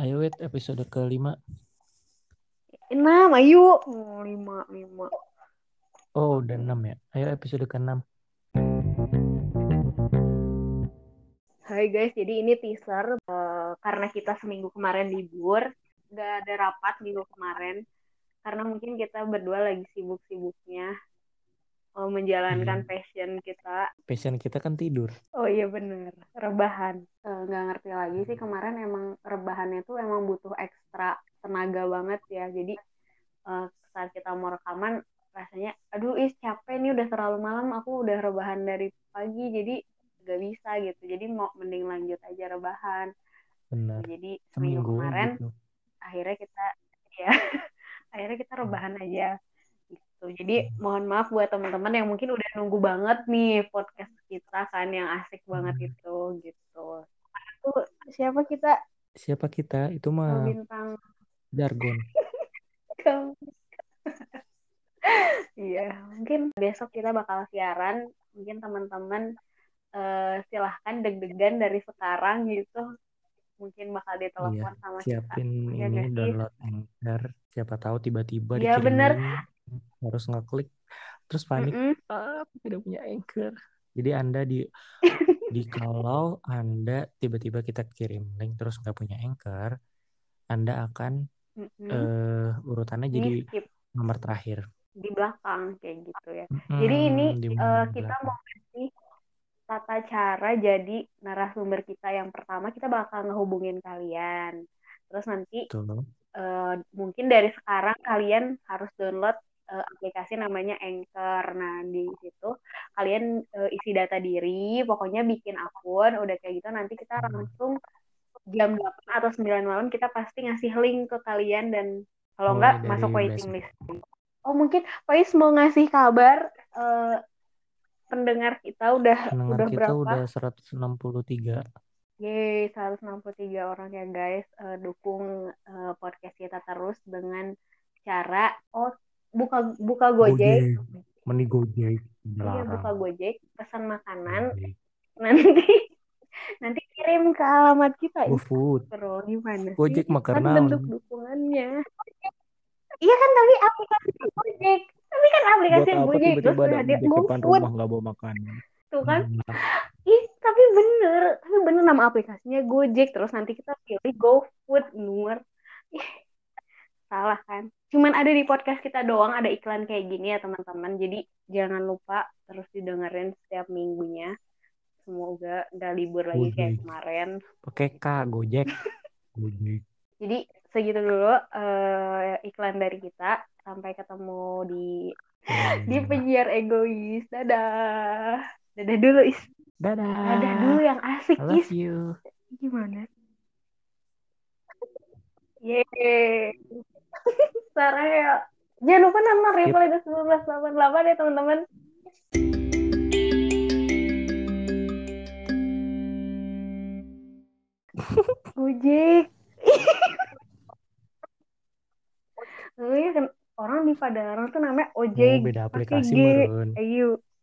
Ayo wait episode ke-5. 6, ayo. 5. Oh udah 6 ya. Ayo episode ke-6. Hai guys, jadi ini teaser karena kita seminggu kemarin libur, gak ada rapat minggu kemarin, karena mungkin kita berdua lagi sibuk-sibuknya menjalankan Iya. passion kita. Passion kita kan tidur. Oh iya bener, rebahan. Nggak ngerti lagi sih, kemarin emang rebahannya tuh emang butuh ekstra tenaga banget ya. Jadi saat kita mau rekaman rasanya aduh capek nih, udah terlalu malam, aku udah rebahan dari pagi jadi gak bisa gitu, jadi mau mending lanjut aja rebahan. Benar. Jadi seminggu Seminggu kemarin gitu. akhirnya kita ya akhirnya kita rebahan aja gitu. Jadi mohon maaf buat teman-teman yang mungkin udah nunggu banget nih podcast kita kan, yang asik banget itu gitu. Tuh siapa kita, Siapa kita? Itu mah bintang jargon. kamu. Iya, mungkin besok kita bakal siaran. Mungkin teman-teman silahkan deg-degan dari sekarang gitu. Mungkin bakal Iya. ditelepon sama kita. Siapin Ya ini gak sih? download Anchor. Siapa tahu tiba-tiba Iya dikirim bener. link. Harus ngeklik. Terus panik. Mm-mm. Aku tidak punya Anchor. Jadi Anda kalau Anda tiba-tiba kita kirim link terus nggak punya Anchor, Anda akan Mm-mm. urutannya Di jadi skip nomor terakhir. di belakang kayak gitu ya. Jadi ini Di kita belakang. mau kasih tata cara jadi narasumber kita yang pertama. Kita bakal ngehubungin kalian. Terus nanti Tuh. mungkin dari sekarang kalian harus download aplikasi namanya Anchor. Nah, di situ kalian isi data diri, pokoknya bikin akun, udah kayak gitu nanti kita langsung jam 8 atau 9 malam kita pasti ngasih link ke kalian, dan kalau enggak Mulai dari masuk waiting besok. list. Oh, mungkin Pais mau ngasih kabar eh, pendengar kita Pendengar udah kita berapa? udah 163. Yeay, 163 orang ya guys. Dukung podcast kita terus dengan cara buka buka Gojek. Gojek. Mending Gojek. Iya, Dilarang. buka Gojek, pesan makanan, Gojek. nanti nanti kirim ke alamat kita. GoFood. Bro, gimana sih? Gojek mah Kan karena bentuk dukungannya. Iya kan, tapi aplikasi Gojek. Tapi kan buat aplikasi apa Gojek terus tiba-tiba ada dia Gojek depan GoFood rumah nggak bawa makanan. tuh kan. Nah, Tapi bener nama aplikasinya Gojek, terus nanti kita pilih GoFood nomor. Ih, salah kan? Cuman ada di podcast kita doang ada iklan kayak gini ya teman-teman. Jadi jangan lupa terus didengerin setiap minggunya. Semoga nggak libur lagi kayak Gojek. kemarin. Pakai K, Gojek. Gojek. Jadi segitu dulu iklan dari kita. Sampai ketemu di Dadah. penyiar egois. Dadah. Dadah dulu, Is. Dadah dulu Dadah. yang asik, I love Is. you. Gimana? Yeay. Sarah ya. Jangan lupa nama Skip. Reply 1988 ya teman-teman. Gojek. Iya kan, orang di Padalarang tuh namanya Oh, Ojek beda pakai aplikasi G. meren. Ayo.